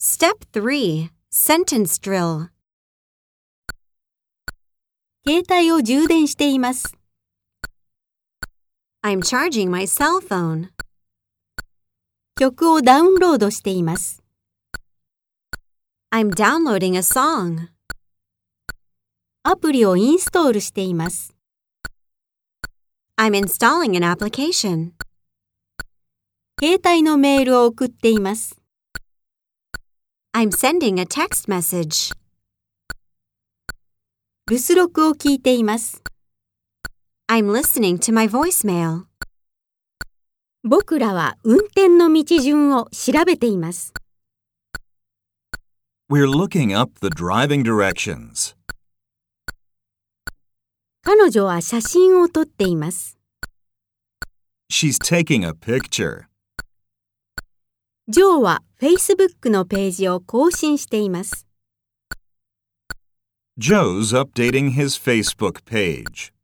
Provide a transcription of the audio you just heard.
Step 3. Sentence Drill. 携帯を充電しています。 I'm charging my cell phone. 曲をダウンロードしています。 I'm downloading a song. アプリをインストールしています。 I'm installing an application. 携帯のメールを送っています。 I'm sending a text message. 留守録を聞いています。 I'm listening to my voicemail. 僕らは運転の道順を調べています。 We're looking up the driving directions. 彼女は写真を撮っています。 She's taking a picture. ジョーは Facebook のページを更新しています。 Joe's updating his Facebook page.